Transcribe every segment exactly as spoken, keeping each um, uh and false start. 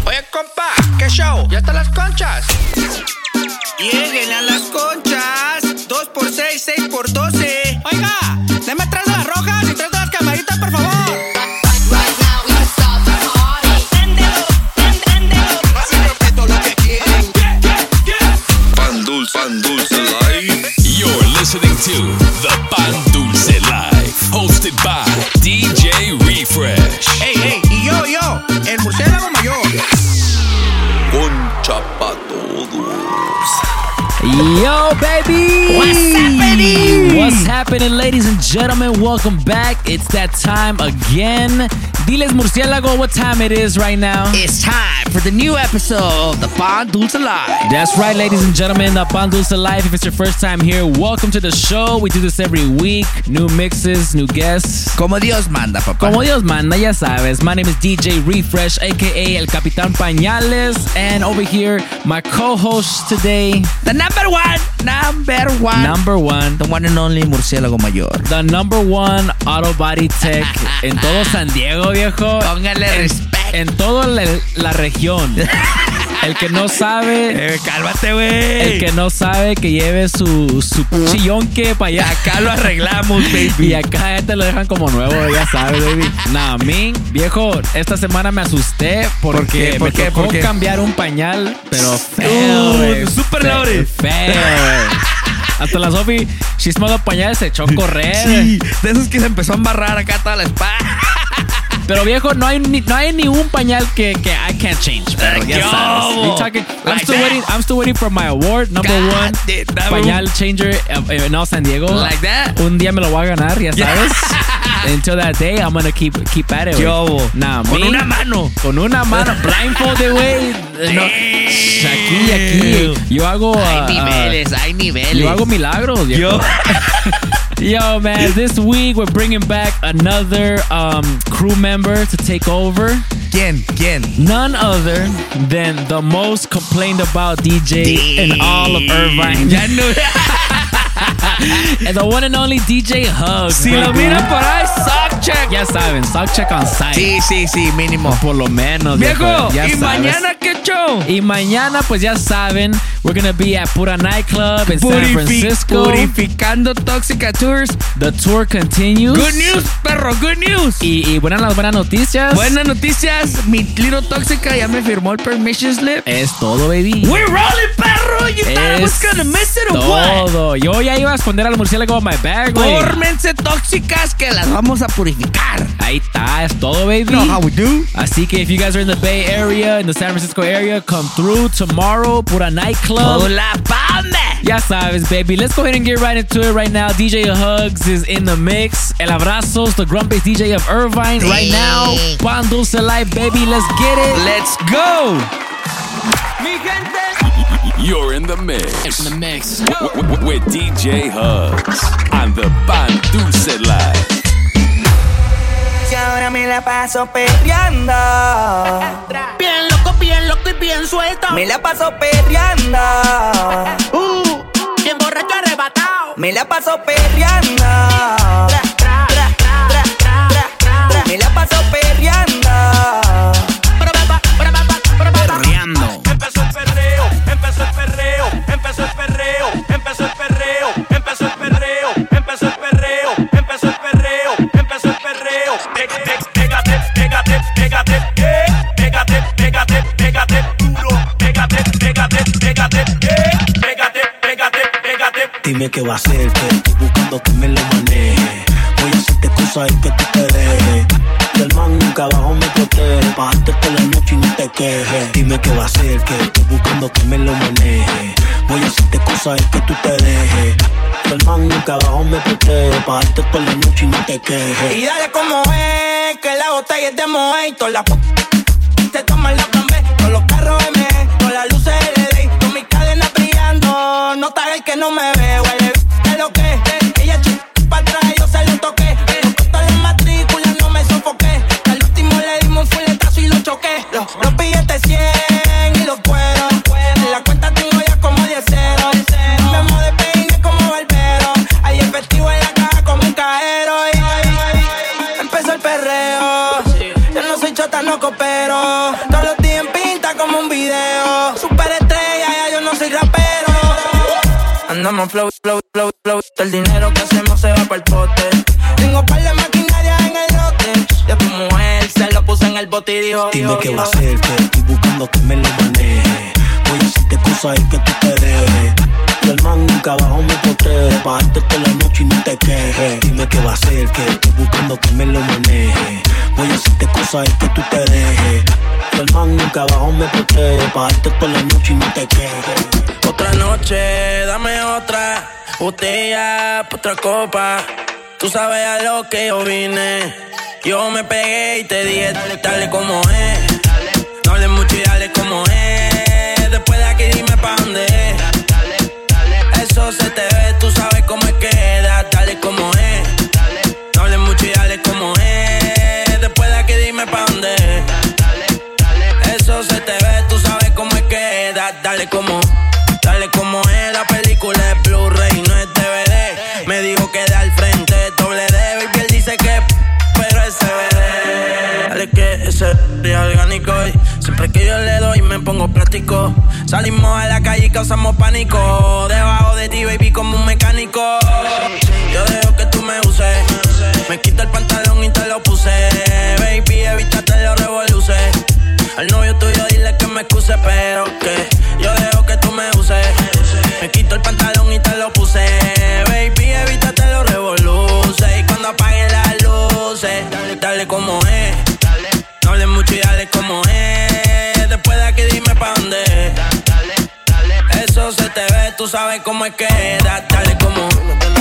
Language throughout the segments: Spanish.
Oye, compa, ¿qué show? ¿Ya están las conchas? Lleguen a las conchas. Dos por seis, seis por doce. Oiga, deme tres de las rojas y tres de las camaritas, por favor. Pan Dulce, Pan Dulce Live. You're listening to the Pan Dulce Live, hosted by D J Refresh. Hey, hey, y yo, yo, el murciélago mayor. Concha pa' todos. Yo, baby! What's happening? What's happening, ladies and gentlemen? Welcome back. It's that time again. Diles, Murciélago, what time it is right now. It's time for the new episode of the Pan Dulce Live. That's right, ladies and gentlemen, the Pan Dulce Live. If it's your first time here, welcome to the show. We do this every week. New mixes, new guests. Como Dios manda, papá. Como Dios manda, ya sabes. My name is D J Refresh, a k a. El Capitán Pañales. And over here, my co-host today. The number one, number one. Number one. The one and only murciélago mayor. The number one auto body tech en todo San Diego, viejo. Póngale respeto. En toda la, la región. El que no sabe. Eh, cálmate, güey. El que no sabe que lleve su, su chillonque para allá. Acá lo arreglamos, baby. Y acá ya te lo dejan como nuevo, ya sabes, baby. Nah, a mí, viejo, esta semana me asusté porque ¿Por qué? ¿Por me qué? tocó ¿Por qué? cambiar un pañal, pero feo, güey. Uh, super Fe- loaded. Feo, güey. Hasta la Sofi, she smelled the pañal, se echó a correr. Sí, de esos que se empezó a embarrar acá toda la espalda. Pero viejo, no hay ni, no hay ni un pañal que, que I can't change. Pero ya Yo. sabes. You talking, I'm Like still that. waiting. I'm still waiting for my award, number God, one dude, number pañal changer uh, in all San Diego. Like that. Un día me lo voy a ganar, ya sabes. Until that day, I'm gonna keep keep at it. güey. Yo. Nah, Con me- una mano. Con una mano, blindfolded, güey. No, aquí, aquí. Yo hago. uh, Hay uh, niveles, hay niveles. Yo hago milagros. Yo. viejo. Yo, man, this week we're bringing back another um, crew member to take over. ¿Quién? ¿Quién? None other than the most complained about D J in all of Irvine. Ya no. And the one and only D J Hugs. Si lo baby. miran por ahí, sock check. Ya saben, sock check on site. Sí, sí, sí, mínimo. Por lo menos. Viejo, ya ¿y sabes. mañana qué show? Y mañana, pues ya saben, we're gonna be at Pura Nightclub in San Purifi- Francisco. Purificando Tóxica Tours. The tour continues. Good news, perro, good news. Y, y buenas las buenas noticias. Buenas noticias, mi Little Tóxica ya me firmó el permission slip. Es todo, baby. We're rolling, perro. You thought I was gonna miss it or what? todo. Yo ya iba a esconder al murciélago en my bag, güey. Fórmense tóxicas que las vamos a purificar. Ahí está, es todo, baby. You know how we do. Así que if you guys are in the Bay Area, in the San Francisco area, come through tomorrow, Pura Nightclub. Hola, pame. Ya sabes, baby. Let's go ahead and get right into it right now. D J Hugs is in the mix. El Abrazos, the grumpiest D J of Irvine right now. Pan Dulce Live, baby. Let's get it. Let's go. Mi gente. You're in the mix. In the mix. W- w- with D J Hugs on the Pan Dulce Live. Y ahora me la paso perreando. Bien loco, bien loco y bien suelto. Me la paso perreando. Uh, bien borracho arrebatado. Me la paso perreando. Me la paso perreando. Perreando. Empezó el perreo, empezó el perreo, empezó el perreo, empezó el perreo, empezó el perreo, empezó el perreo, empezó el perreo, empezó el perreo. Pégate, pégate, pégate, eh. Pégate, pégate, pégate, duro. Pégate, pégate, pégate, eh. Pégate, pégate, pégate. Dime qué va a hacer, que estoy buscando que me lo maneje. Voy a hacerte cosas y que tú te dejes. Y el man nunca abajo me protege. Bajarte por la noche y no te quejes. Dime qué va a hacer, que estoy buscando que me lo maneje. Voy a hacerte cosas y que tú te dejes. Y el man nunca abajo me protege. Bajarte por la noche y no te quejes. Y dale como es, que la botella es de Moët. La p*** te toman la plan B. Con los carros M, con las luces L E D. Con mis cadenas brillando. No te hagas que no me ve, huele. ¿Qué lo que es? Ella chupa para atrás, yo se lo toqué. Pero con todas las matrículas no me sofoqué. Al último le dimos un fuletazo y lo choqué. Los, los billetes cien y los cueros. En la cuenta tengo ya como diez ceros. Me amo de peine como barbero. Hay efectivo en la caja como un cajero. Y empezó el perreo. Yo no soy chota, no coopero. Todos los días en pinta Andamos flow, flow, flow, flow. El dinero que hacemos se va pa'l pote. Tengo par de maquinaria en el lote. De tu mujer se lo puse en el bote y dijo, dime dijo, qué dijo. va a hacer, que estoy buscando que me lo maneje. Voy a hacerte cosas y que tú te dejes. Y el man nunca abajo me protege. Pagarte toda la noche y no te quejes. Dime qué va a hacer, que estoy buscando que me lo maneje. Voy a hacerte cosas y que tú te dejes. Y el man nunca abajo me protege. Pagarte toda la noche y no te quejes. Otra noche, dame otra botella, otra copa. Tú sabes a lo que yo vine. Yo me pegué y te dije, dale, dale como es. No hables mucho y dale como es. Después de aquí dime pa' dónde es. Eso se te ve, tú sabes cómo es que da. Dale como es. No hables mucho y dale como es. Después de aquí dime pa' dónde es. Eso se te ve, tú sabes cómo es que da. Dale como, dale como es. La película es Blu-ray, no es D V D. Me dijo que de al frente doble D. Baby, él dice que pero es C B D. Dale que ese es orgánico y siempre que yo le doy me pongo plástico. Salimos a la calle y causamos pánico. Debajo de ti, baby, como un mecánico. Yo dejo que tú me uses. Me quito el pantalón y te lo puse. Baby, evítate los revoluces. Al novio tuyo dile que me excuse, pero que yo dejo que tú me uses. Me quito el pantalón y te lo puse. Baby, evítate los revoluces. Y cuando apaguen las luces, dale, dale como es. No hables mucho y dale como es. Después de aquí dime pa' dónde es. Eso se te ve, tú sabes cómo es que da. Dale como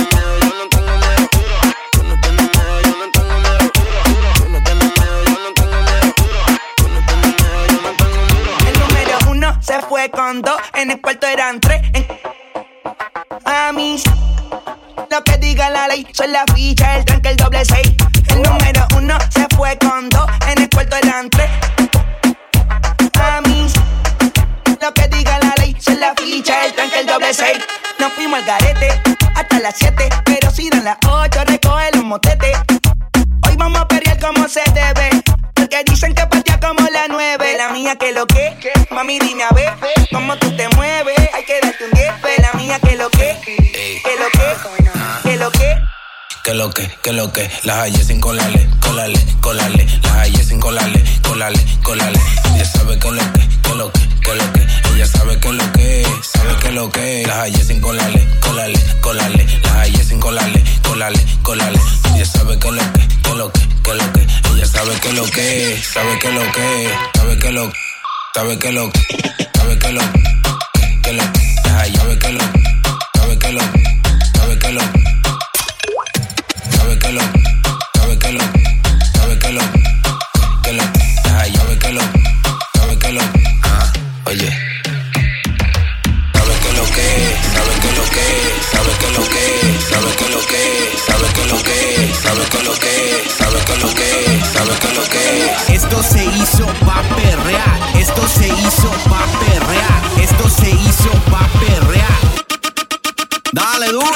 se fue con dos, en el cuarto eran tres. En... A mí, lo que diga la ley, son la ficha, el tranque, el doble seis. El número uno se fue con dos, en el cuarto eran tres. A mí, lo que diga la ley, son la ficha, el tranque, el doble seis. Nos fuimos al garete, hasta las siete, pero si dan las ocho, recoge los motetes. Hoy vamos a pelear como se debe. Porque dicen que patea como la nueve. La mía que lo que, mami dime a ver cómo tú te mueves. Hay que darte un diez. La mía que lo que, que lo que, que lo que. Que lo que, que lo que, las hallé sin colarle, colarle, colarle. Las hallé sin colarle, colarle, colarle. Ella sabe que lo que, que lo que, que lo que. Ella sabe que lo que, sabe que lo que. Las hallé sin colarle, colarle, colarle. Las hallé sin colarle, colarle, colarle. Ella sabe que lo que, que lo que, que lo que. Ella sabe que lo que, sabe que lo que, sabe que lo, sabe que lo, sabe que lo, que lo. Las hallé, sabe que lo, sabe que lo, sabe que lo. Sabe que lo, sabe que lo, sabe que lo, que lo, ay, sabe que lo, sabe que lo, ah, oye. Sabe que lo que, sabe que lo que, sabe que lo que, sabe que lo que, sabe que lo que, sabe que lo que, sabe que lo que, sabe que lo que. Esto se hizo pa' perrear, esto se hizo pa' perrear, esto se hizo pa' perrear. Dale duro.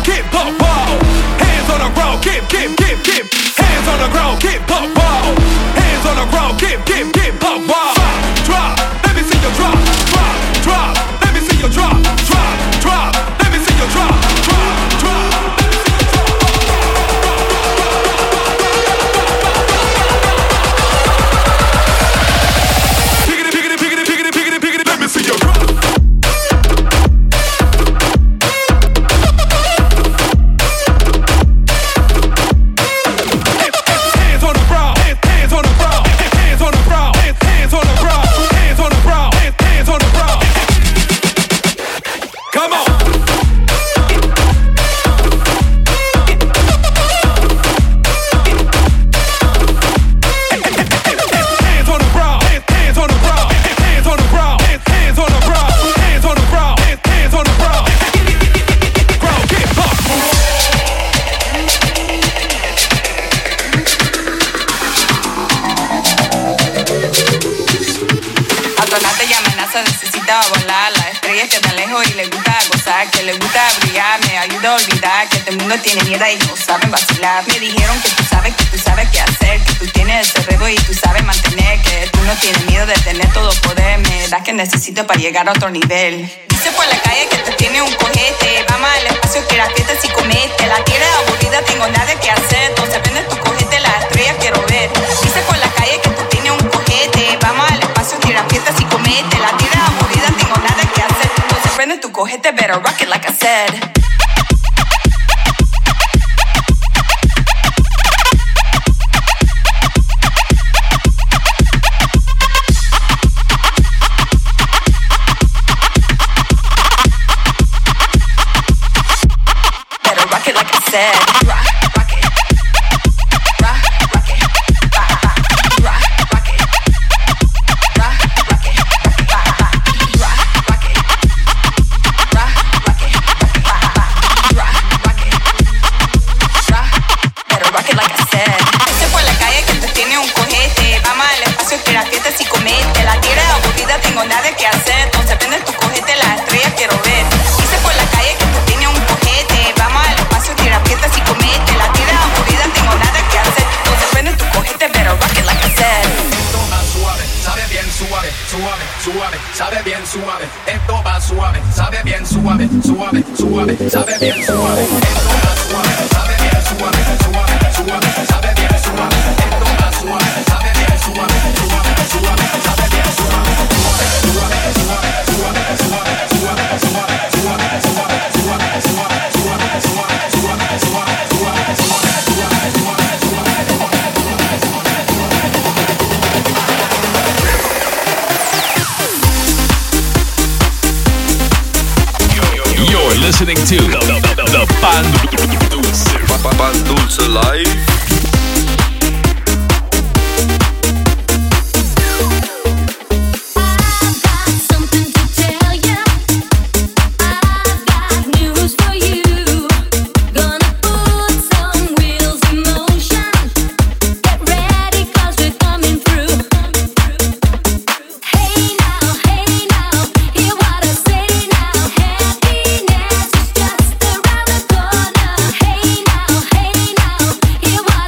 keep pop pop. Hands on the ground, keep keep keep keep. Hands on the ground, keep pop pop. Hands on the ground, keep keep keep pop pop. Drop, let me see you drop, drop, drop. Let me see you drop, drop, drop. Let me see you drop, drop, drop. Pick it, pick it, pick it, pick it, pick it, pick it. Let me see you drop. Que le gusta brillar, me ayuda a olvidar que este mundo tiene mierda y no saben vacilar. Me dijeron que tú sabes, que tú sabes qué hacer, que tú tienes el cerebro y tú sabes mantener, que tú no tienes miedo de tener todo poder. Me da que necesito para llegar a otro nivel. Dice por la calle que tú tienes un cojete, vamos al espacio que la fiesta si comete. La tierra es aburrida, tengo nada que hacer, entonces prende tu cojete, las estrellas quiero ver. Dice por la calle que tú tienes un cojete, vamos al espacio que la fiesta si comete. La tierra es aburrida, tengo nada que hacer, entonces prende tu cojete, better rock it like I said. Better rock it like I said. Rock, rock it. Rock, rock it. Rock, rock, rock it. Rock, rock it. Rock, rock it. Rock, rock it. Rock, rock it. Rock, better rock it like I said. Dice por la calle que tú tienes un cojete, vamos al espacio que la fiesta si comete. La tierra es aburrida, tengo nada que hacer, entonces prende tu cojete, las estrellas quiero ver. Dice por la calle que tú tienes un cojete, vamos al espacio que la fiesta si comete. La tierra es aburrida, tengo nada que hacer, entonces prende tu cojete, better rock it like I said. Esto va suave, sabe bien suave, suave, suave, sabe bien suave. Esto va suave, sabe bien suave, suave, suave, sabe bien suave. Esto va suave, sabe bien suave, suave, suave, sabe bien suave. Esto va suave, sabe bien suave, suave, suave, sabe bien suave. Suave, suave, suave, suave, suave, suave, suave, suave, suave, suave, suave, suave, suave, suave, suave, You're listening to the, the, the, the Pan Dulce. Pan Dulce Live. Hey now,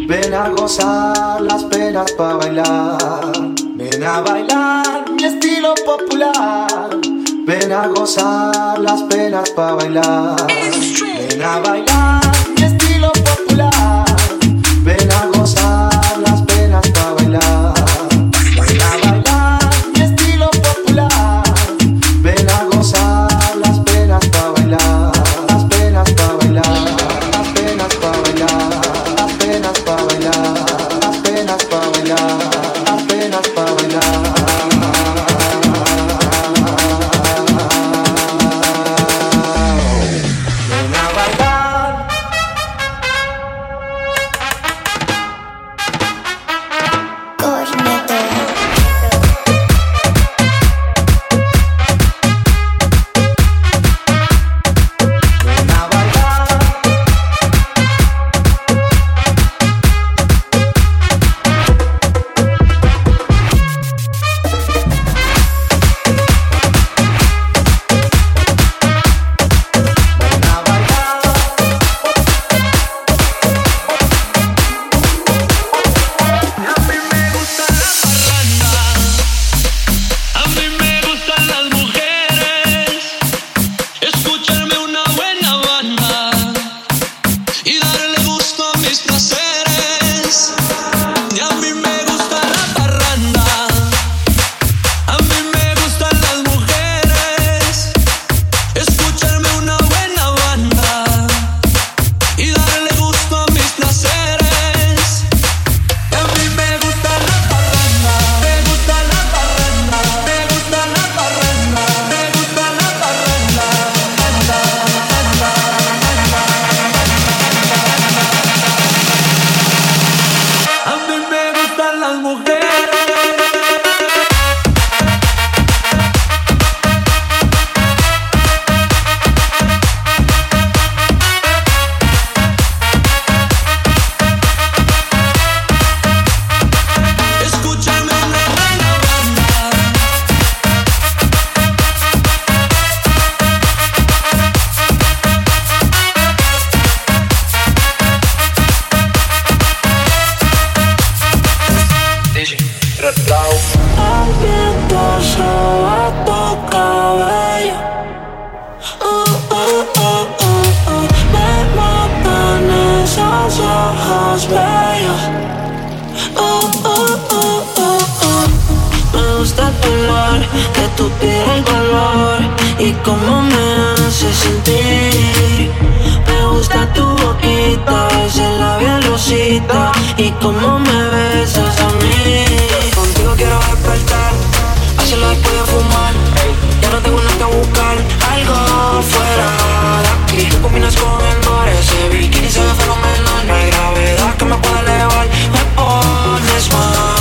Ven a gozar las penas pa' bailar. Ven a bailar mi estilo popular. Ven a gozar las penas pa' bailar. Ven a bailar mi estilo popular. Ven a gozar las penas pa' bailar. Ven a bailar mi estilo popular. Ven a gozar las penas pa' bailar. Las penas pa' bailar. Las penas pa' bailar. Las penas pa' bailar. Las penas pa' bailar. Las penas pa' bailar. Y cómo me besas a mí. Contigo quiero despertar, hacerlo después de fumar. Ya no tengo nada que buscar, algo fuera de aquí. Tú combinas con el mar, ese bikini se ve fenomenal. No hay gravedad que me pueda elevar, me pones mal.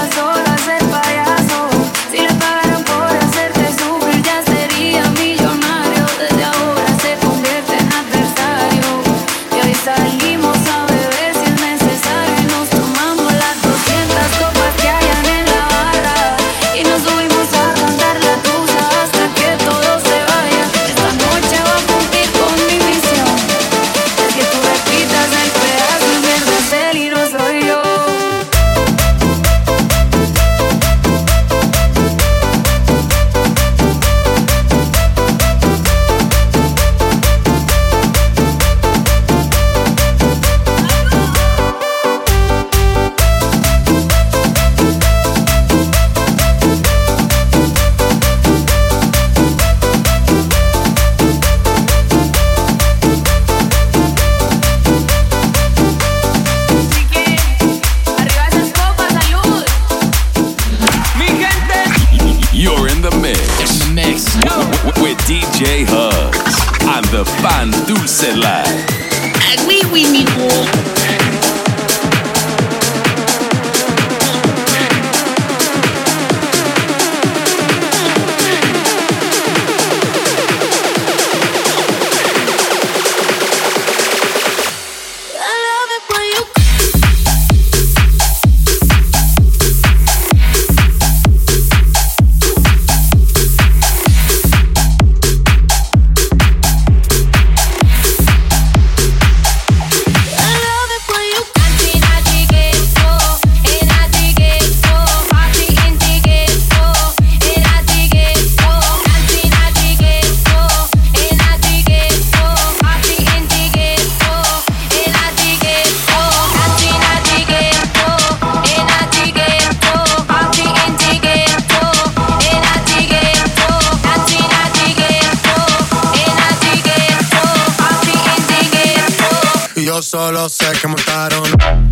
Millonario. with D J Hugs on the Pan Dulce Live. Oui, oui, mi gros. Yo solo sé que montaron.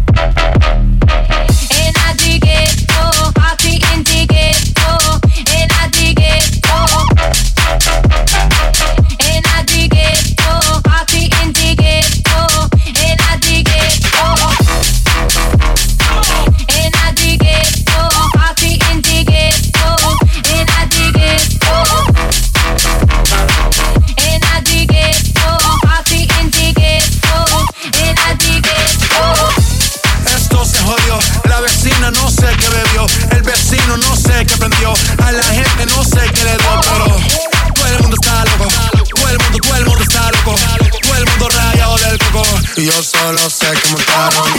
No sé qué bebió, el vecino no sé qué prendió, a la gente no sé qué le dio, pero todo el mundo está loco, todo el mundo, todo el mundo está loco, todo el mundo rayado del coco, y yo solo sé que montaron.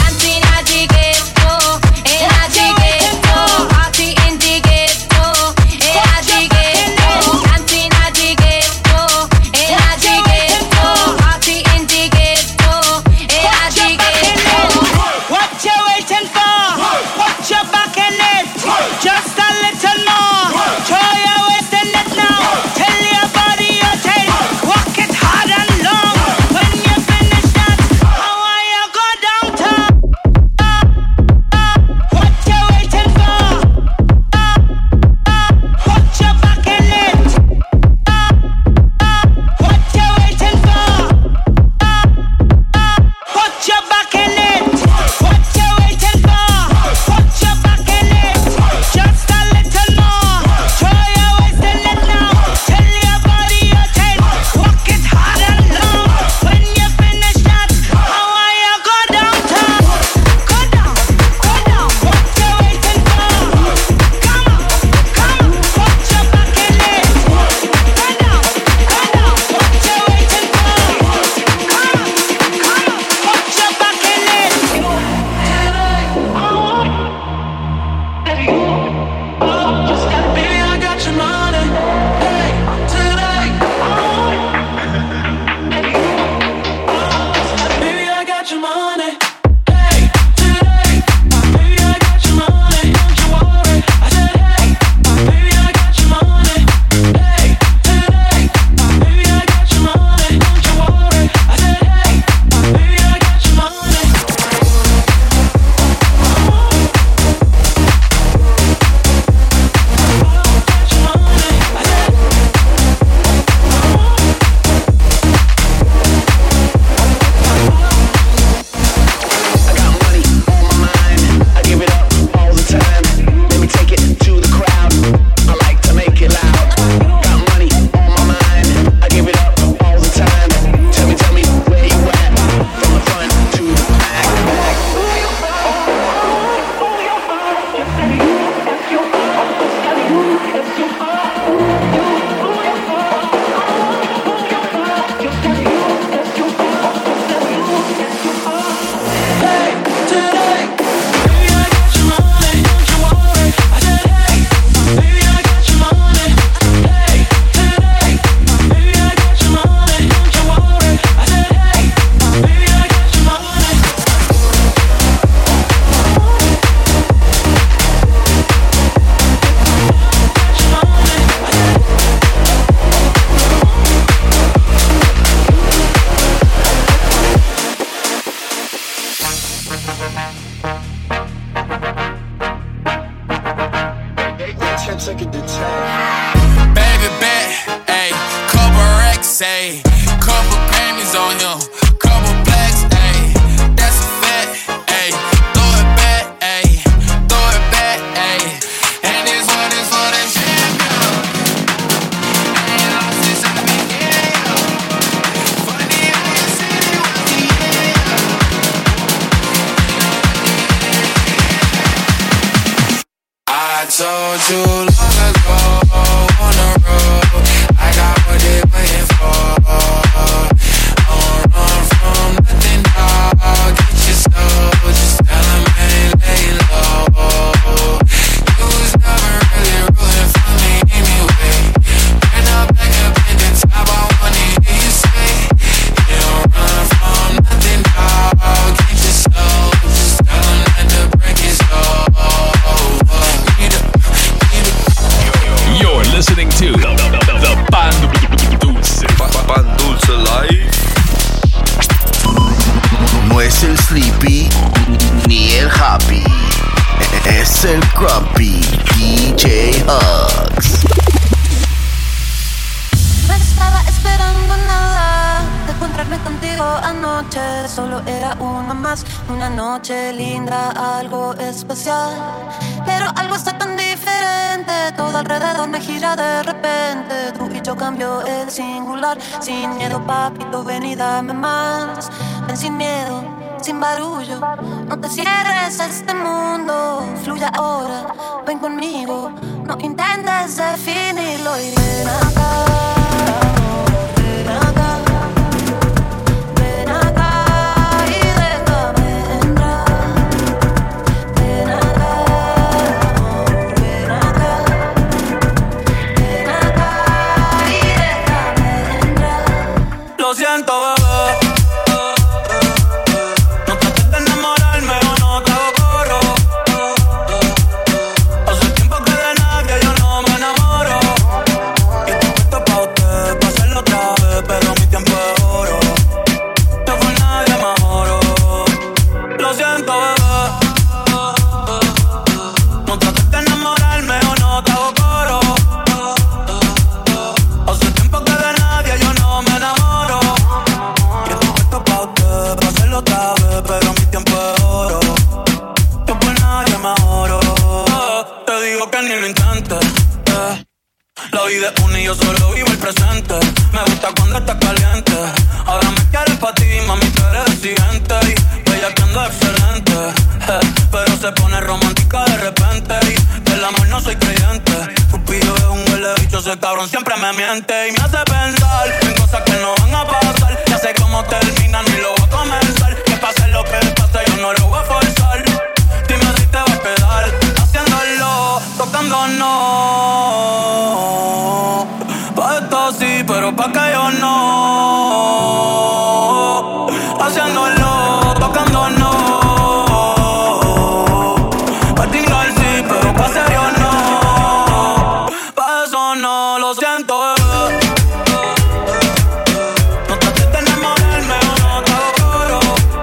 Downtown. racks, ayy. Couple Grammys on him, couple blacks, ayy. That's a fact, ayy. Throw it back, ayy. Throw it back, ayy. And this one is for the champion. And you lost this in the beginning. Funny how you said it was the end. I told you long ago on the road, I got what they waiting for. I won't run from nothing, dog. Get your soul, just tell them I ain't laying low. You was never really rooting for me anyway. Turn up back up in the top, I wanna hear you say, you don't run from nothing, dog. Get your soul, just tell them that the break is over. You're listening to the, the, the, the Pan Dulce. Pan Dulce Live. No es el Sleepy ni el Happy, es el Grumpy D J Hugs. No estaba esperando nada de encontrarme contigo anoche. Solo era una más, una noche linda, algo especial. Pero algo está tan diferente, todo alrededor me gira de repente. Tú y yo cambio el singular, sin miedo papito, ven y dame más. Ven sin miedo, sin barullo, no te cierres a este mundo. Fluye ahora, ven conmigo, no intentes definirlo. Y ven acá. Lo siento, bebé. No trates de enamorarme o no te hago coro. Hace tiempo que de nadie yo no me enamoro. Y estoy puesto pa' usted, pa' hacerlo otra vez, pero mi tiempo es oro. Yo con nadie me oro. Lo siento, bebé. No trates de enamorarme o no te hago coro. Hace tiempo que de nadie yo no me enamoro. Otra vez, pero mi tiempo es oro. Yo por nadie me oro. Te digo que ni lo intentes, eh. La vida es una y yo solo vivo el presente. Me gusta cuando estás caliente. Ahora me quieres pa' ti, mami, tú eres exigente. Y bella que ando excelente, eh. Pero se pone romántica de repente. Y del amor no soy creyente. Cupido es un huele bicho, ese cabrón siempre me miente. Y me hace pensar en cosas que no van a pasar. Ya sé cómo terminan y lo voy a comenzar. Que pase lo que pase, yo no lo voy a forzar. Dime si te va a quedar haciéndolo, tocándonos. Pa' esto sí, pero pa' que yo no. Haciéndolo, tocándonos. Pa' tingar sí, pero pa' serio no. Pa' eso no, lo siento, bebé. No trates de enamorarme o no te hago coro.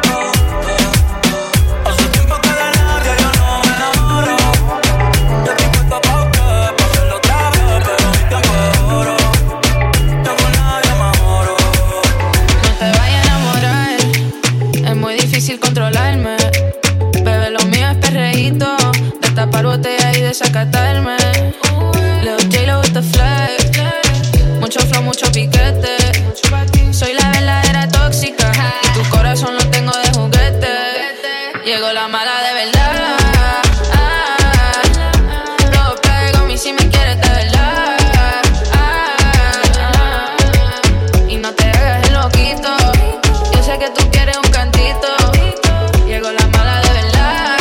Hace tiempo que de nadie yo no me enamoro. Yo estoy puesto pa' usted, pa' hacerlo otra vez, pero mi tiempo es oro. Yo con nadie me oro. No te vayas a enamorar, es muy difícil controlarme. Bebé, lo mío es perreíto, destapar botella y desacatarme. Lil J-Lo with the flag, mucho flow, mucho piquete. Soy la verdadera tóxica y tu corazón lo tengo de juguete. Llegó la mala de verdad. No pego a mí si me quieres de verdad. Y no te hagas el loquito, yo sé que tú quieres un cantito. Llegó la mala de verdad.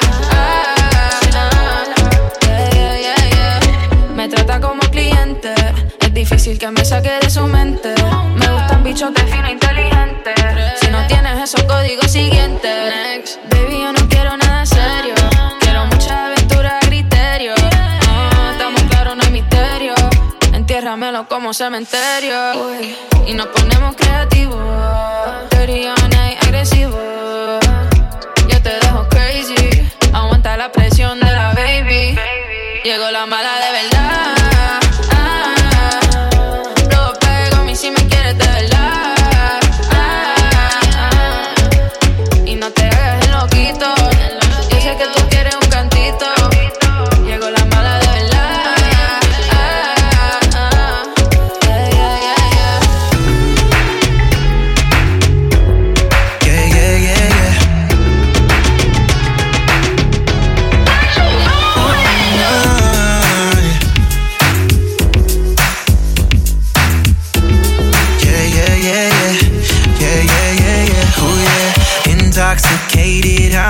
Yeah, yeah, yeah, yeah. Me trata como cliente, es difícil que me saque de su mente. Me gustan bichos de fino inteligente. Si no tienes esos códigos siguientes, next. Baby, yo no quiero nada serio, quiero mucha aventura a criterio. Ah, estamos claros, no hay misterio. Entiérramelo como cementerio. Uy. Y nos ponemos creativos, dirty on night, agresivo. Yo te dejo crazy, aguanta la presión de la baby. Llegó la mala de verdad. No pego a mí si me quieres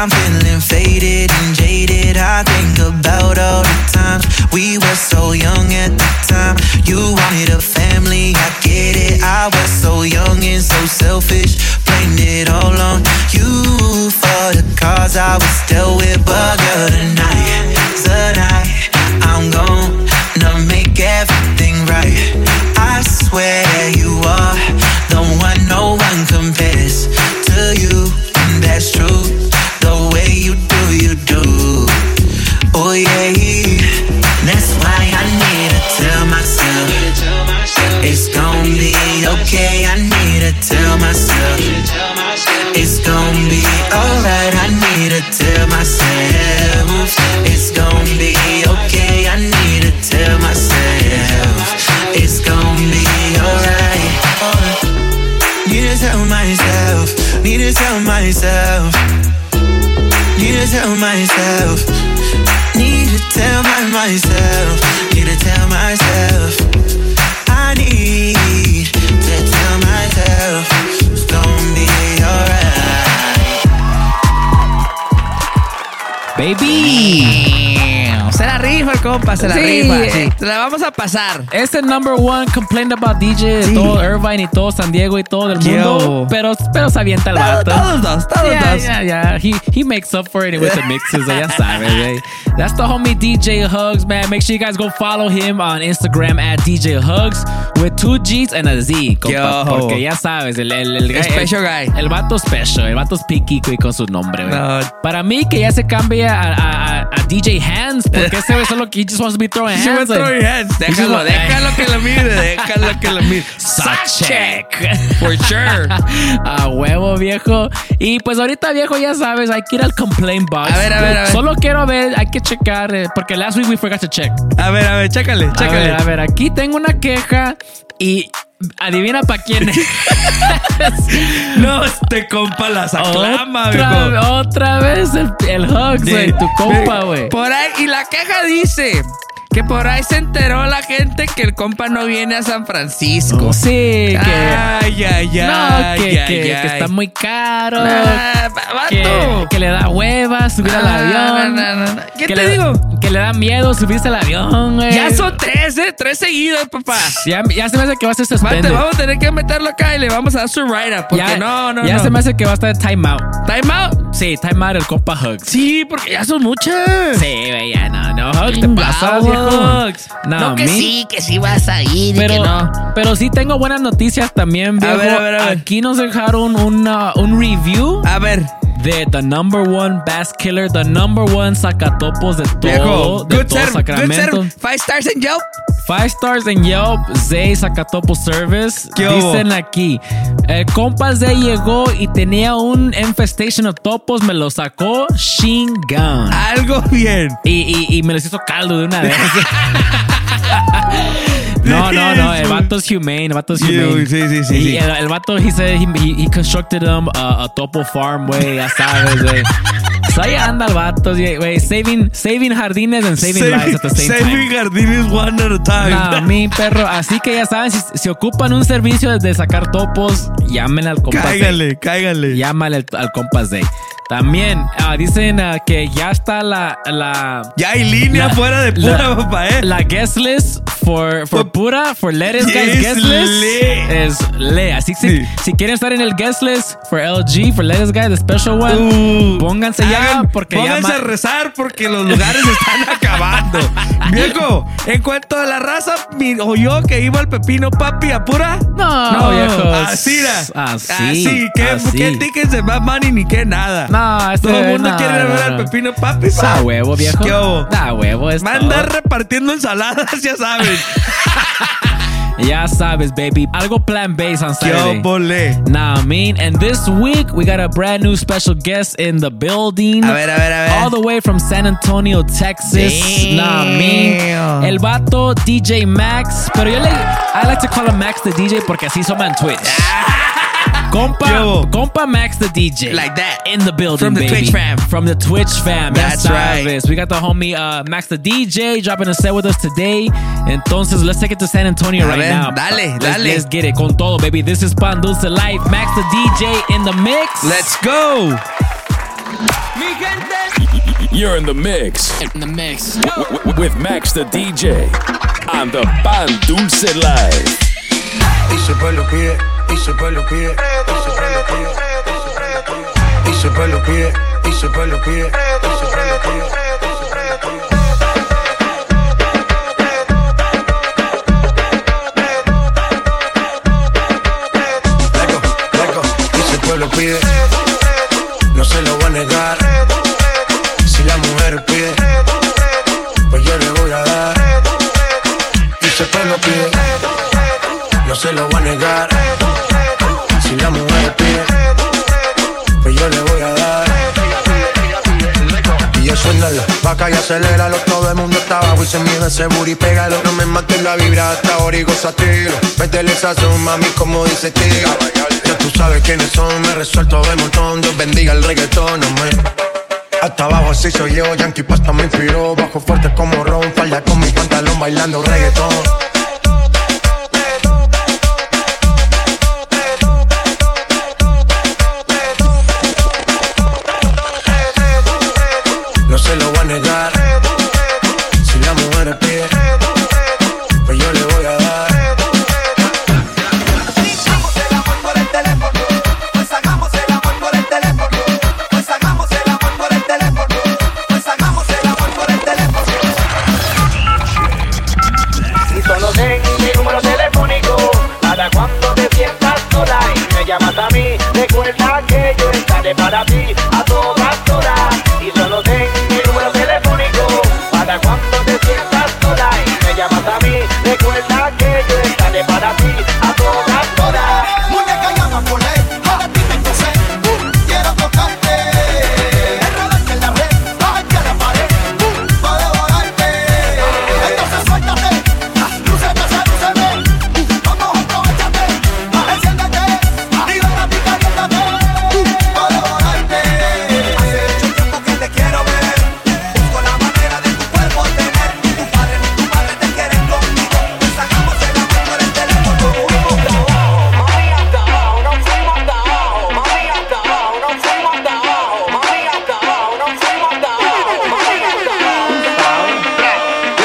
I'm feeling faded and jaded. I think about all the times we were so young at the time. You wanted a family, I get it. I was so young and so selfish, blamed it all on you for the cause I was dealt with. But girl, tonight, tonight, I'm gonna make everything right. I swear you are the one no one compares to you, and that's true. The way you do, you do. Oh yeah, that's why I need to tell myself it's gonna be okay. I need to tell myself it's gonna be alright. I need to tell myself it's gonna be okay. I need to tell myself it's gonna be alright. Need to tell myself, need to tell myself, need to tell myself, need to tell my myself, need to tell myself, I need to tell myself it's gonna be alright. Baby. Se la rifa el compa, se la Sí. rifa. Sí. Se la vamos a pasar. Es el number one complaint about D J de Sí. todo Irvine y todo San Diego y todo el mundo. Yo. Pero, pero se avienta el Todo- vato. todos dos, todos yeah, dos. Yeah, yeah. He, he makes up for it with the mixes. Ya sabes, güey. That's the homie D J Hugs, man. Make sure you guys go follow him on Instagram at D J Hugs with two G's and a Z, compa. Yo. Porque ya sabes, el, el, el, El special guy. El, el vato special. El vato es piqui güey, con su nombre, güey. No. Para mí, que ya se cambie a, a, a, a D J Hands, porque ese güey solo he just wants to be throwing She hands. was throwing hands. He's Déjalo, just like- déjalo que lo mire, déjalo que lo mire. Suck check. For sure. A huevo, viejo. Y pues ahorita, viejo, ya sabes, hay que ir al complaint box. A ver, a ver, a ver. Solo quiero ver, hay que checar, eh, porque last week we forgot to check. A ver, a ver, chécale, A chécale. ver, a ver, aquí tengo una queja y adivina para quién es. No, este compa las aclama, otra, viejo. otra vez el, el Hugs, güey, tu compa, güey. Por ahí, y la queja dice que por ahí se enteró la gente que el compa no viene a San Francisco. Sí, que. Ay, ay, ay. No, que, ay, que, ay. que está muy caro. Ah, vato. que, que le da hueva subir al Ah, avión. no, no, no. ¿Qué que te le, digo? Que le da miedo subirse al avión, güey. Ya son tres, ¿eh? Tres seguidas, papá. Ya, ya se me hace que va a ser Mate, suspended. vamos a tener que meterlo acá y le vamos a dar su write-up. Porque ya, no, no, ya no. se me hace que va a estar en time out. ¿Time out? Sí, time out el compa Hugs. Sí, porque ya son muchas. Sí, güey, ya no, no, Hugs, te pasas, viejo. Hugs. No, No, que mi- sí, que sí vas a ir y Pero, que no. pero sí tengo buenas noticias también, viejo. A ver, a ver, a ver. Aquí nos dejaron una, un review A ver. de the number one bass killer, the number one sacatopos de todo, Viejo, de good todo serve, good Sacramento. serve. Five stars in Yelp. Five stars en Yelp, Zay Sacatopo Service. ¿Qué hubo? Dicen aquí, el compa Zay llegó y tenía un infestation of topos, me lo sacó Shingun. Algo bien. Y, y, y me los hizo caldo de una vez. No, no, no. El vato es humane. El vato es humane. Sí, sí, sí, Y sí. El, el vato, he said he, he, he constructed them a, a topo farm, güey. Ya sabes, güey. So ahí anda el vato, güey. Saving, saving jardines and saving, lives at the same saving time. jardines one at a time. No, mi perro. Así que ya saben, si, si ocupan un servicio de sacar topos, llamen al compa Zay. Cáigale, cáigale. Llámale al, al compa Zay. También ah, dicen ah, que ya está la, la Ya hay línea La- fuera de pura, la- papá, eh. la guest list for, for pura, for Lettuce Guys Yes, guest list le. es le. Así que Sí. si, si quieren estar en el guest list for L G, for Lettuce Guys, the special one, Uh, pónganse ya hagan- porque ya pónganse ma- a rezar porque los lugares están acabando. Viejo, en cuanto a la raza, mi, o yo que iba al Pepino Papi a pura. No, viejo. Así era. Así, Así. ¿Qué, así. qué tickets de Bad Money ni qué nada? No, este, Todo el mundo no, quiere ir a ver no, al no. Pepino Papi. Da huevo, viejo. ¿Qué hubo? Da huevo. Es Va a todo. andar repartiendo ensaladas, ya sabes. Ya sabes, baby. Algo plant-based on ¿Qué Saturday. obole? Nah, I mean, and this week we got a brand new special guest in the building. A ver, a ver, a ver. All the way from San Antonio, Texas. Damn. Nah, I mean, el vato D J Max, pero yo le, I like to call him Max the D J porque así somos en Twitch. Compa, Yo. compa Max the D J. Like that. In the building, From the baby. Twitch fam. From the Twitch fam. That's ya right. sabes. We got the homie uh, Max the D J dropping a set with us today. Entonces, let's take it to San Antonio A right ver, now. dale, let's, dale. Let's get it. Con todo, baby. This is Pan Dulce Life. Max the D J in the mix. Let's go. Mi gente. You're in the mix. In the mix. W- w- with Max the D J on the Pan Dulce Live. Y se pe lo pide, y se pe lo pide, y se pe lo pide, y se pe lo pide, y se pe lo pide, y se pe lo pide, y se pe lo pide. Lego, lego, y se pe lo pide, no se lo voy a negar. Si la mujer pide, pues yo le voy a dar. Y se pe lo pide, no se lo voy a negar. Si la mujer pide, pues yo le voy a dar. Y eso es nada, vaca y aceléralo. Todo el mundo está abajo y se mide ese booty, pégalo. No me mates la vibra hasta ahora y gozatilo. Métele esa son, mami, como dice Tiga. Ya tú sabes quiénes son, me resuelto de montón. Dios bendiga el reggaetón, no me... Hasta abajo así soy yo, Yankee Pasta me inspiró. Bajo fuerte como Ron, falda con mi pantalón bailando reggaetón. No se lo voy a negar. Si la mujer pide, pues yo le voy a dar. Hagamos el amor por el teléfono. Pues hagamos el amor por el teléfono. Pues hagamos el amor por el teléfono. Pues hagamos el amor por el teléfono. Y solo ten mi número telefónico para cuando te sientas sola y me llamas a mí. Recuerda que yo estaré para ti a todas horas. Y solo ten mi número telefónico para cuando te sientas sola y me llamas a mí. Recuerda que yo estaré para ti a todas horas. Muñeca llama por él, ahora ti tengo sed. Quiero tocarte, enredarte en la red, bajarte a la pared, para devorarte. Entonces suéltate, lúceme, sedúceme. Vamos, aprovechate, enciéndete, libérate y caliéntate, para devorarte. Hace mucho tiempo que te quiero ver, busco la manera de tu cuerpo tener. Tu padre ni tu madre te quieren conmigo, pues hagamos el amor por el teléfono. Mami hasta abajo, no fuimos hasta abajo. Mami hasta abajo, no fuimos hasta abajo. Mami hasta abajo, no fuimos hasta abajo. Mami hasta abajo.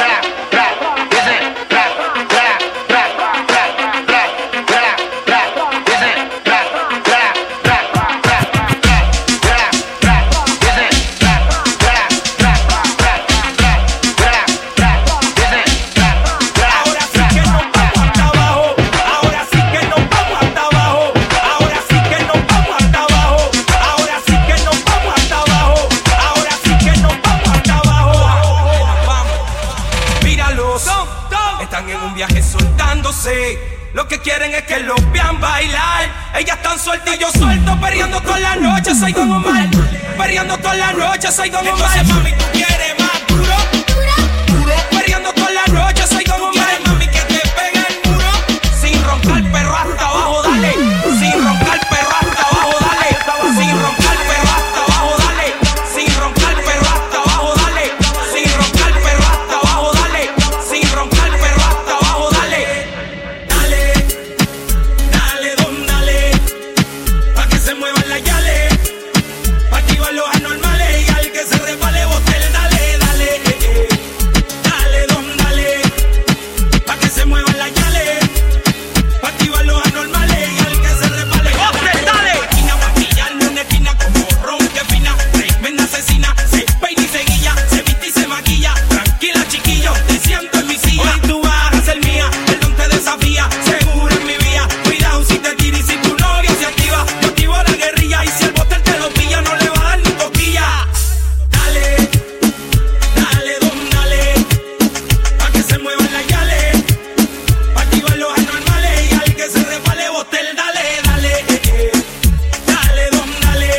Ahora sí que nos vamos hasta abajo. Ahora sí que nos vamos hasta abajo. Ahora sí que nos vamos hasta abajo. Ahora sí que nos vamos hasta abajo. Ahora sí que nos vamos hasta abajo. Vamos, míralos, están en un viaje soltándose. Lo que quieren es que los vean bailar. Ellas están sueltas y yo suelto, perreando toda la noche. Soy Don Omar, perreando toda la noche. Soy Don Omar. Entonces, mami, tú quieres más duro, duro, perreando toda la noche. Soy Don Omar. Mami, que te pegue el muro, sin roncar, perro hasta abajo, dale. Sin roncar, perro hasta abajo, dale. Sin roncar, perro hasta abajo, dale. Sin roncar, perro hasta abajo, dale. Sin roncar, perro hasta abajo, dale. Sin roncar, perro hasta abajo, dale. Dale, dale, don, dale, pa' que se muevan las yales, pa' activar los anormales y al que se resbale bote el dale, dale, eh, eh. Dale, don, dale, pa' que se muevan las yales, pa' activar los anormales y al que se resbale bote el dale. Esquina maquillando en esquina como ron que fina, tremenda asesina, se peina y se guilla, se viste y se maquilla. Tranquila, chiquillo, te siento en mi silla. Hoy tú vas a ser mía, el don te desafía, seguro en mi vía. Cuidado si te tira y si tu novia se activa, yo activo la guerrilla y si el botel te lo pilla no le va a dar ni cosquilla. Dale, dale, don, dale, pa' que se muevan las yales, pa' activar los anormales y al que se resbale botel, dale, dale, eh, eh. Dale, don, dale,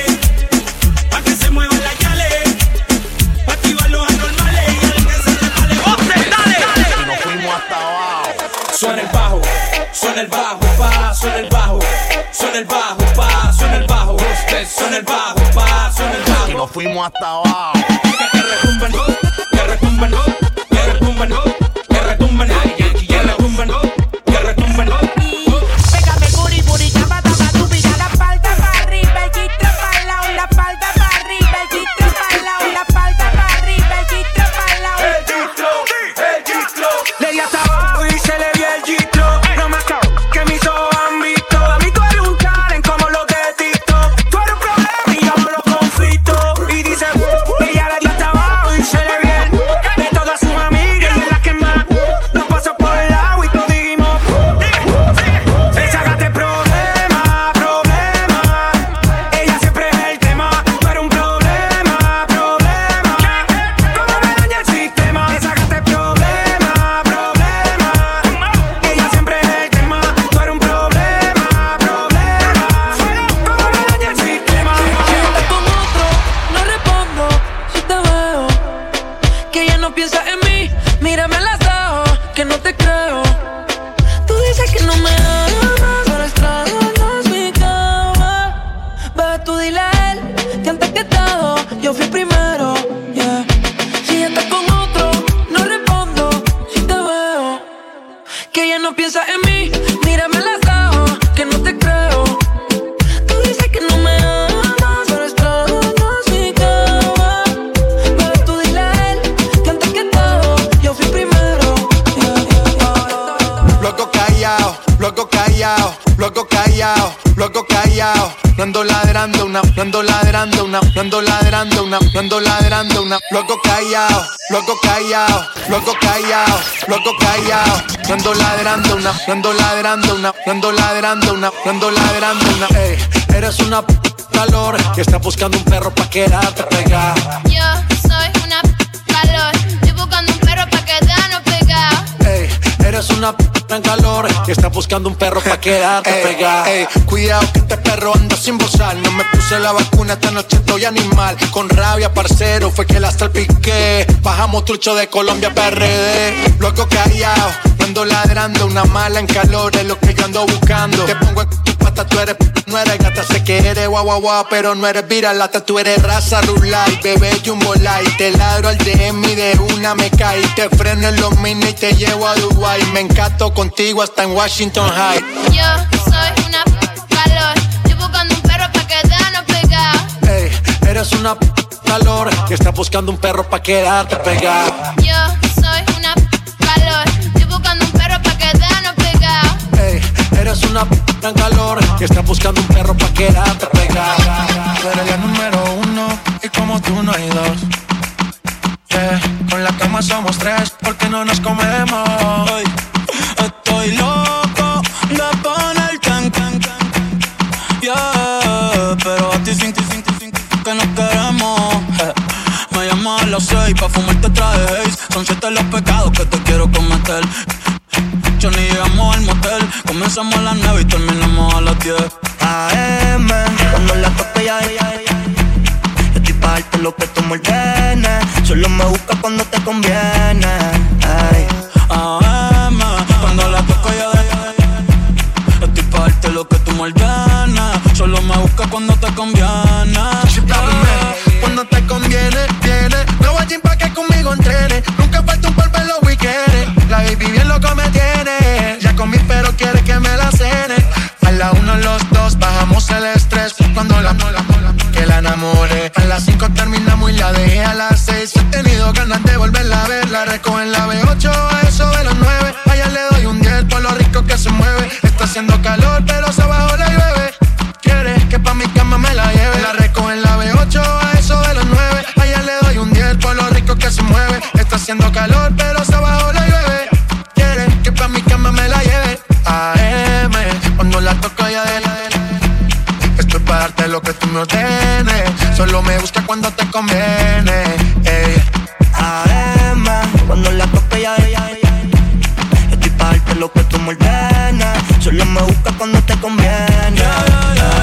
pa' que se muevan las yales, pa' activar los anormales y al que se resbale botel, dale. Y nos fuimos hasta abajo. Suena el bajo, suena el bajo, pa, suena el bajo, suena el bajo, pa, suena el bajo, suena el bajo, pa, suena el Y bajo. nos fuimos hasta abajo. Que retumben, que retumben, que retumben, que retumben, que retumben, que retumben. Pégame booty, booty, tapa, tapa, tú pilla la espalda para arriba, el gistro para el lado, la espalda para arriba, el luego callao, luego callao. No ando ladrando una, no ando ladrando una, no ando ladrando una, no ando ladrando una. Luego callao, luego callao, luego callao, luego callao. No ando ladrando una, no ando ladrando una, no ando ladrando una, no ando ladrando una. Ey, eres una p calor que está buscando un perro pa' quedarte pegado. Yo soy una p calor, estoy buscando un perro pa' quedarnos pegados. Ey, eres una p en calor que está buscando un perro pa' quedarte pegado. Ey, cuidado que este perro anda sin bozar. No me puse la vacuna, esta noche estoy animal. Con rabia, parcero, fue que la salpiqué. Bajamos trucho de Colombia P R D. Luego callao, no ando ladrando. Una mala en calor es lo que yo ando buscando. Te pongo en tu pata, tú eres p no eres gata. Sé que eres guau guau guau, pero no eres viralata. Tú eres raza rulay, bebé jumbo light. Te ladro al D M y de una me caí. Te freno en los mini y te llevo a Dubai. Me encanto contigo hasta en Washington High. Yo soy una p calor, estoy buscando un perro pa' quedarnos pegados. Ey, eres una p calor que está buscando un perro pa' quedarte pegado. Yo soy una p calor, estoy buscando un perro pa' quedarnos pegados. Ey, eres una p en calor que está buscando un perro pa' quedarte pegado. Tú eres la número uno y como tú no hay dos. Yeah, con la cama somos tres porque no nos comemos. Hey, estoy loco de ponerte en can, can, yeah, pero a ti sin ti, sin ti, sin ti, que nos queremos. Eh, me llamas a las seis pa' fumarte traje Haze. Son siete los pecados que te quiero cometer. Yo ni llegamos al motel. Comenzamos a las nueve y terminamos a las diez. A M, cuando la toque ya, ya, ya, ya. Yo estoy pa' darte lo que tú me ordenes. Solo me buscas cuando te conviene. Ay. A M, cuando la toque ya, ya, ya, ya. Estoy pa' darte lo que tú me ordenes. Solo me buscas cuando te conviene. Yeah. Cuando te conviene, viene. No voy a gym pa' que conmigo entrene. Nunca falta un polvo en los weekends. La baby bien loco me tiene. Ya comí pero quiere que me la cene. A la uno los dos bajamos el estrés. Cuando la mola, que la enamore. A las cinco terminamos y la dejé a las seis. He tenido ganas de volverla a ver. La recojo en la B ocho a eso de las nueve. Allá le doy un diez por lo rico que se mueve. Está haciendo calor pero se bajó la llueve. Quiere que pa' mi cama me la lleve. La recojo en la B ocho a eso de las nueve. Allá le doy un diez por lo rico que se mueve. Está haciendo calor pero se bajó la llueve. Quiere que pa' mi cama me la lleve. A M, cuando la toco ya de la de la. Estoy pa' darte lo que tú me ordenes. Solo me busca cuando te conviene. Ey. A M, cuando la toque ya, ya, ya, ya. Estoy pa' darte lo que tú me ordenes. Solo me busca cuando te conviene. Yeah, yeah, yeah,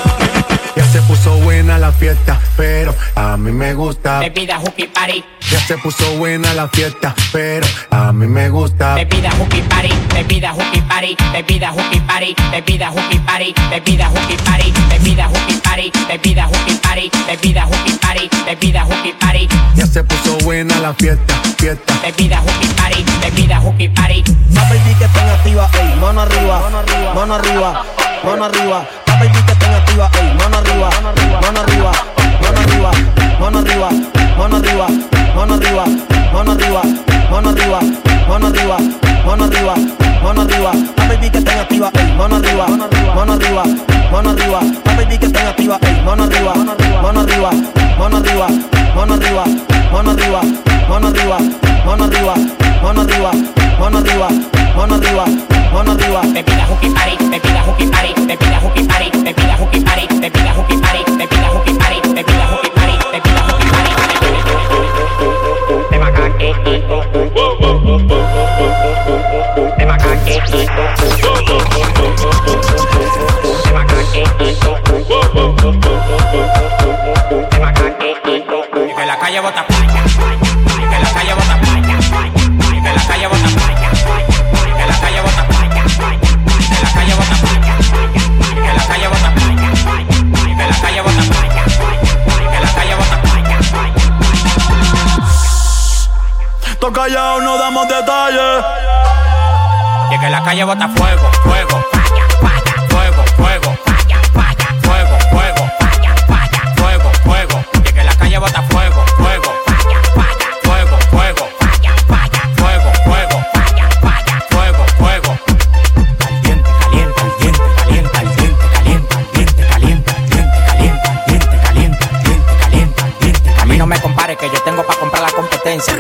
yeah. Ya se puso buena la fiesta, pero a mí me gusta. Bebida Hooky Party. Ya se puso buena la fiesta, pero a mí me gusta. Bebida Hooky Party, bebida Hooky Party, bebida Hooky Party, bebida Hooky Party, bebida Hooky Party, bebida Hooky Party, bebida Hooky Party, bebida Hooky Party, bebida Hooky Party. Ya se puso buena la fiesta, fiesta. Bebida Hooky Party, bebida Hooky Party. Ma baby que estén activa, ey, mano arriba, mano arriba, mano arriba, mano arriba. Ma baby que estén activa, ey, mano arriba, mano arriba, mano arriba, mano arriba, mano arriba, mano arriba, mano arriba, mano arriba, mano arriba, mano arriba, mano arriba. Ma baby que estén activa, ey, mano arriba, mano arriba, mano arriba. Ma baby que estén activa, ey, mano arriba, mano arriba, mano arriba, mano arriba, mano arriba, mano arriba, mano arriba, mano arriba, mano arriba, mano arriba, mano arriba. Bebida Hooky Party, bebida Hooky Party, bebida Hooky Party, bebida Hooky Party, bebida Hooky Party, bebida Hooky Party, bebida Hooky Party, bebida Hooky Party. Te macaque, te macaque, te macaque, te macaque. Y que la calle bota playa, y que la calle bota playa, y que la calle bota playa, y que la calle bota playa, y que la calle bota playa, y que la calle bota playa, y que la calle bota playa, y que la calle bota playa. Tô callado, no damos detalles. Y que la calle bota fuego, fuego, falla, falla, fuego, fuego, falla, falla, fuego, fuego, falla, falla, fuego, fuego. Y que la calle bota fuego, fuego, falla, falla, fuego, fuego, falla, falla, fuego, fuego, falla, falla, fuego, fuego. Caliente, caliente, caliente,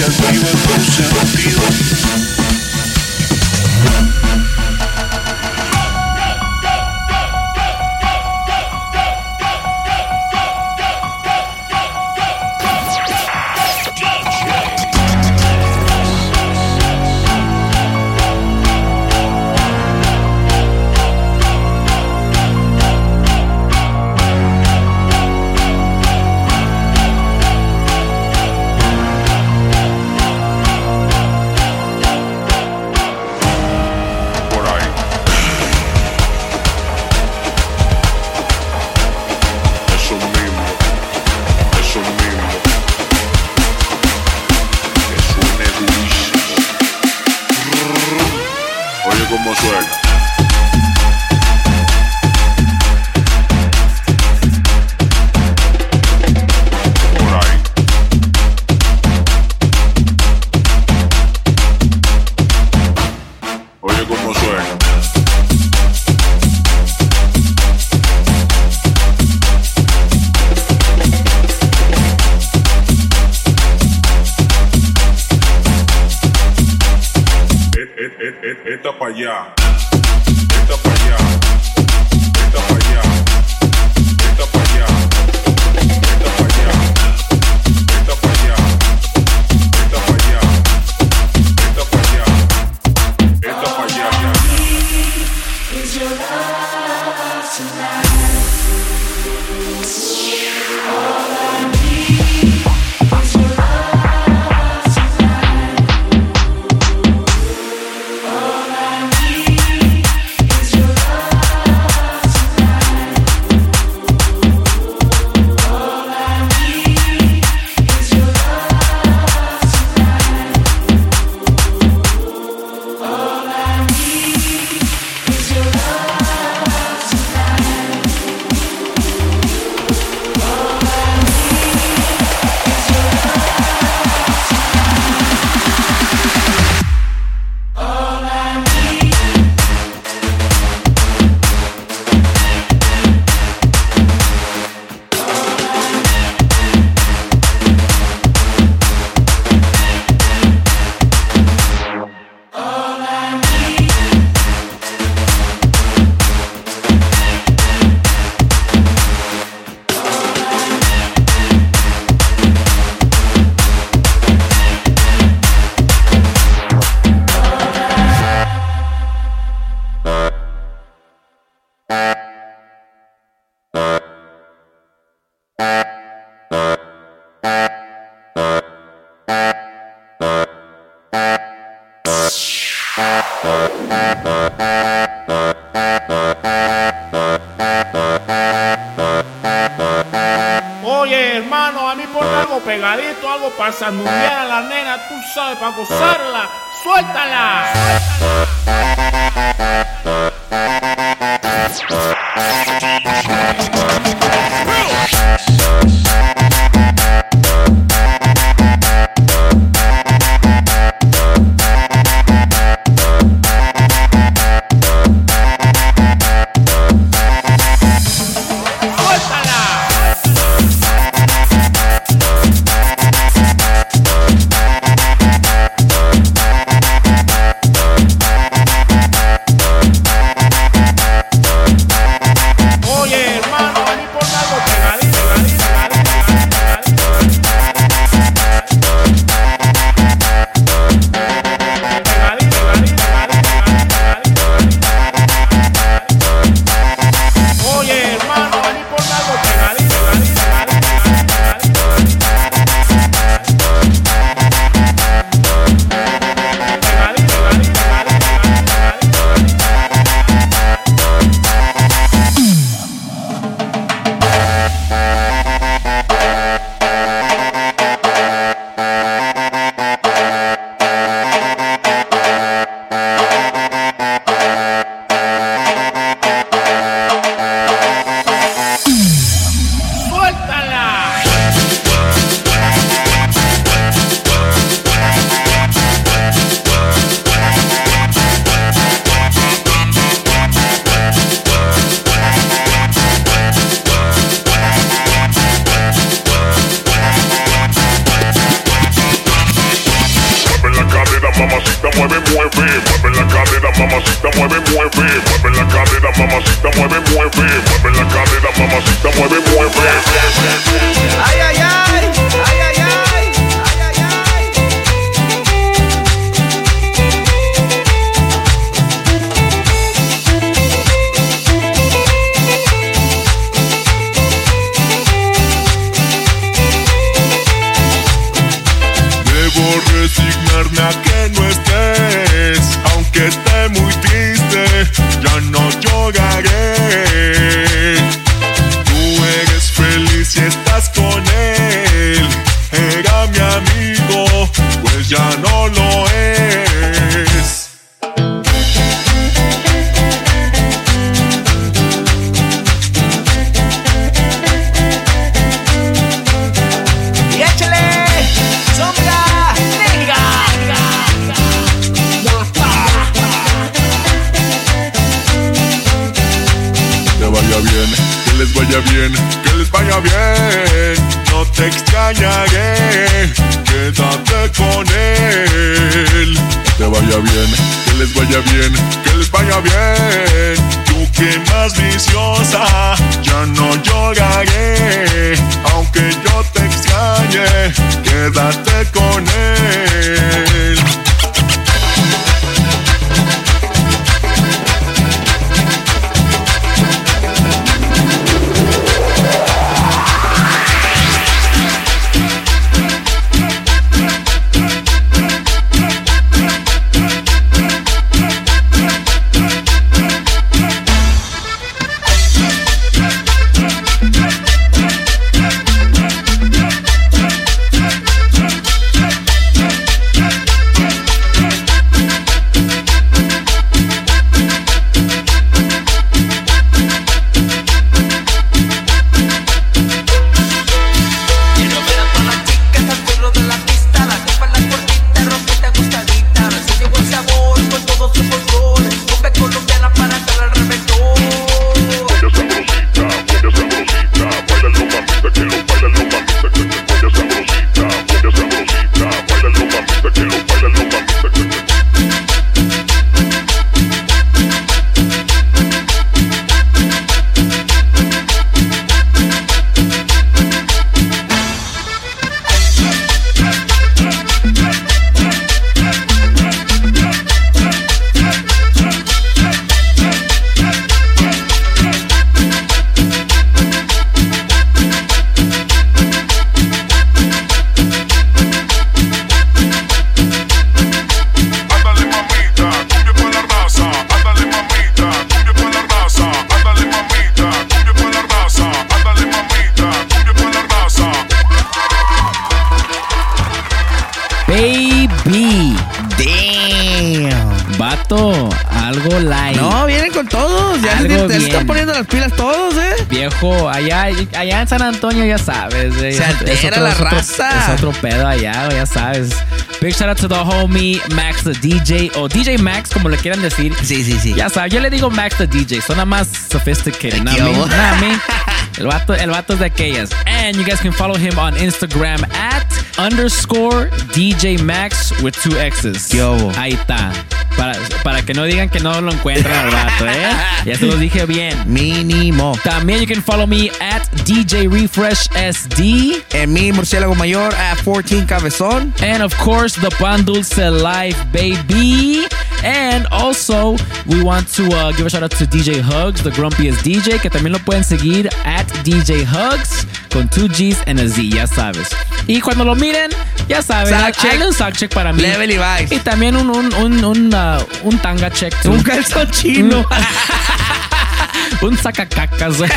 que activa tus sentidos. Como suena. Por ahí. Oye cómo suena. Esta pa' allá, esta pa' allá, esta pa' allá, esta pa' allá, esta pa' allá, esta pa' allá, esta pa' allá, esta pa' allá, esta pa' allá. Is your love tonight? All I need is your love tonight. All I need is your love tonight. All I need is your love tonight. All I need is your love tonight. Oye, hermano, a mí ponme algo pegadito, algo para sandulear a la nena, tú sabes, para gozarla. ¡Suéltala! Oye, mamacita, mueve, mueve. Mueve la cadera, mamacita, mueve, mueve. Mueve la cadera, mamacita, mueve, mueve. Ay, ay, ay, ay, ay, ay. Debo resignarme a que no estés, aunque esté muy triste, ya no lloraré. Tú eres feliz y estás con él, era mi amigo, pues ya no lo es. Y échale sombra negra. Que vaya bien, que les vaya bien, que les vaya bien. No te extrañaré, quédate con él. Que vaya bien, que les vaya bien, que les vaya bien. Tú que más viciosa, ya no lloraré. Aunque yo te extrañe, quédate con él. Baby. Damn. Vato, algo light. No, vienen con todos. Ya se, Algo se bien. están poniendo las pilas todos, ¿eh? Viejo, allá, allá en San Antonio ya sabes. eh, Se es- altera es otro- la es otro- raza. Es otro pedo allá, ya sabes. Big shout out to the homie Max the D J o D J Max, como le quieran decir. Sí, sí, sí. Ya sabes, yo le digo Max the D J, suena más sophisticated. ¿No? Yo. ¿No? El vato, el vato es de aquellas. And you guys can follow him on Instagram at underscore D J Max with two X's. Yo. Ahí está. Para, para que no digan que no lo encuentran al vato, ¿eh? Ya se los dije bien. Mínimo. También you can follow me at D J Refresh S D. En mi murciélago mayor at fourteen Cabezón. And of course, the Pan Dulce Life, baby. And also, we want to uh, give a shout out to D J Hugs, the grumpiest D J, que también lo pueden seguir at D J Hugs con two G's and a Z, ya sabes. Y cuando lo miren, ya saben, Sock check. hazle un sock check para mí. Level y Vice. Y también un, un, un, un, uh, un tanga check. too. Un calzón chino. Un sacacacas, güey.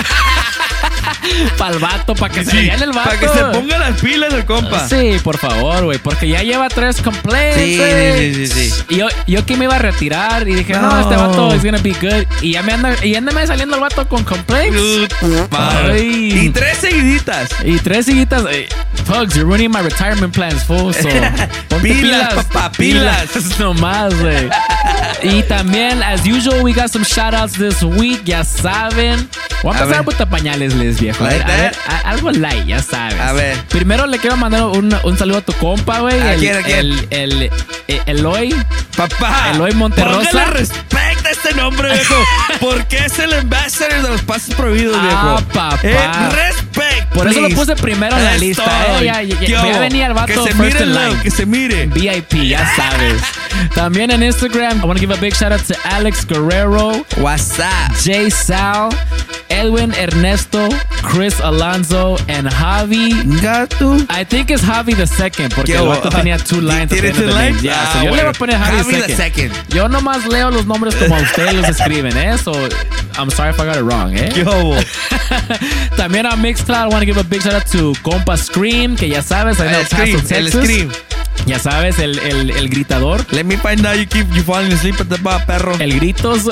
Para el vato, para que se Sí, llene el vato. para que se ponga las pilas el compa. Sí, por favor, güey, porque ya lleva tres complaints. Sí, güey. sí, sí, sí. Y yo, yo que me iba a retirar y dije, no, No. este vato is gonna be good. Y ya me anda, y ándame saliendo el vato con complaints. Ay. Y tres seguiditas. Y tres seguiditas. eh, Pugs, you're ruining my retirement plans, fool. So, ponte Pilas, papá, pilas. Nomás, güey. Y también, as usual, we got some shout outs this week. Ya saben. Voy a A empezar ver. con pañales, les viejo. A ver, Like a ver, that? a- algo light, ya sabes. A ver. Primero le quiero mandar un, un saludo a tu compa, güey. ¿A el, quién, a quién? El, el, el- Eloy. Papá. Eloy Monterrosa. Póngale respecto a este nombre, viejo. Porque es el ambassador de los pasos prohibidos, Ah, viejo. papá. Eh, respect. Por eso lo please. puse primero en la Es lista. todo. Eh, ya, ya, ¿Qué ya, ya hubo? venía el vato Que se first mire, in line. low, que se mire. V I P, ya sabes. También en Instagram, I want to give a big shout out to Alex Guerrero. What's up? Jay Sal, Edwin Ernesto, Chris Alonso, and Javi. Gato. I think it's Javi the second, porque ¿Qué el hubo? vato tenía two lines. ¿Tiene at the end two of the name. lines? Yeah, Ah, so yo le voy bueno. a poner Javi, Javi the the second. second. Yo nomás leo los nombres como ustedes los escriben, ¿eh? So, I'm sorry if I got it wrong, ¿eh? ¿Qué hubo? También a Mixcloud, I want to give a big shout out to Compa Scream, que ya sabes, I know El Scream, Paso, el Texas. Scream. Ya sabes, el, el, el gritador. Let me find out you keep you falling asleep at the bar, perro. El gritos.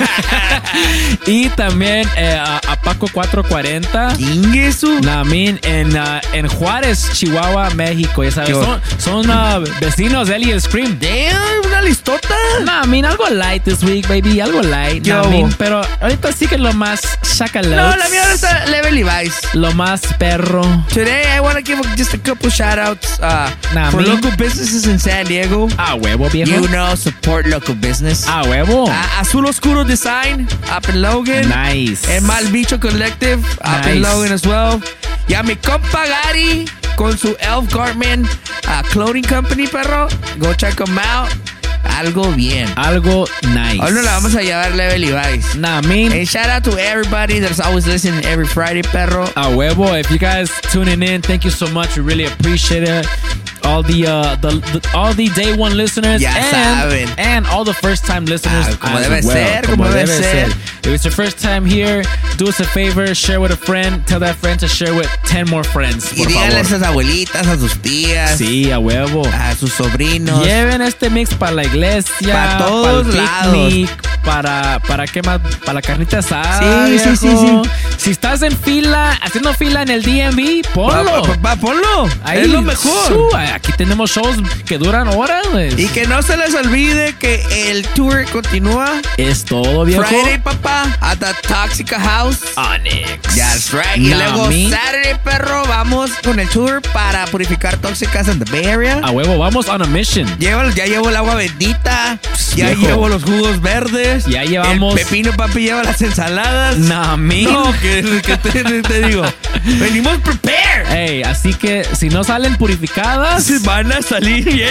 Y también eh, a, a Paco cuatro cuarenta. ¿Quién es eso? Namin en, uh, en Juárez, Chihuahua, México. Ya sabes, ¿Qué? son, son uh, vecinos de él y el Scream. Damn, una listota. Namin, algo light this week, baby. Algo light. ¿Qué Namin, hubo? pero ahorita sí que lo más chacalotes. No, la mía ahora está Level Levi's. Lo más perro. Today, I want to give just a couple shout outs uh, Nah, for me- local businesses in San Diego. Ah, huevo, viejo. You know, support local business. Ah, huevo. Uh, Azul Oscuro Design up in Logan. Nice. El Mal Bicho Collective up in Nice. Logan as well. Y a mi compa Gary con su Elf Garment uh, Clothing Company, perro. Go check them out. Algo bien. Algo nice. Hoy no la vamos a llevar Level Levi's. Nah, I mean, And shout out to everybody that's always listening every Friday, perro. a huevo. If you guys tuning in, thank you so much. We really appreciate it. All the, uh, the, the all the day one listeners Ya and, saben. and all the first time listeners. Ah, como as debe well. ser, como debe ser. If it's your first time here, do us a favor, share with a friend, tell that friend to share with ten more friends. Y Por díganle a favor. sus abuelitas, a sus tías, Sí, a huevo. a sus sobrinos. Lleven este mix para la iglesia, Pa' todos para el lados. picnic, para, para qué más, para la carnita asada. Sí, sí, sí, viejo. sí. Si estás en fila, haciendo fila en el D M V, ponlo. Pa- pa- pa- ponlo. Ahí, es lo mejor. su, aquí tenemos shows que duran horas, güey. Y que no se les olvide que el tour continúa. Es todo, viejo. Friday, papá, at the Toxica House. Onyx. That's right. Y Nah, luego me. Saturday, perro, vamos con el tour para purificar tóxicas en the Bay Area. A huevo, vamos on a mission. Lleva- ya llevo el agua bendita, ya viejo. llevo los jugos verdes. Ya llevamos- El pepino, papi, lleva las ensaladas. Nah, me. No, que, que te, te digo. Venimos prepared. Ey, así que si no salen purificadas, Se van a salir bien.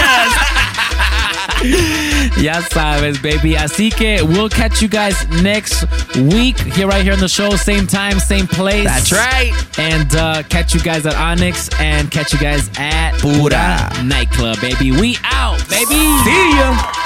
ya sabes, baby. Así que we'll catch you guys next week here, right here on the show. Same time, same place. That's right. And uh, catch you guys at Onyx and catch you guys at Pura. Nightclub, baby. We out, baby. See ya.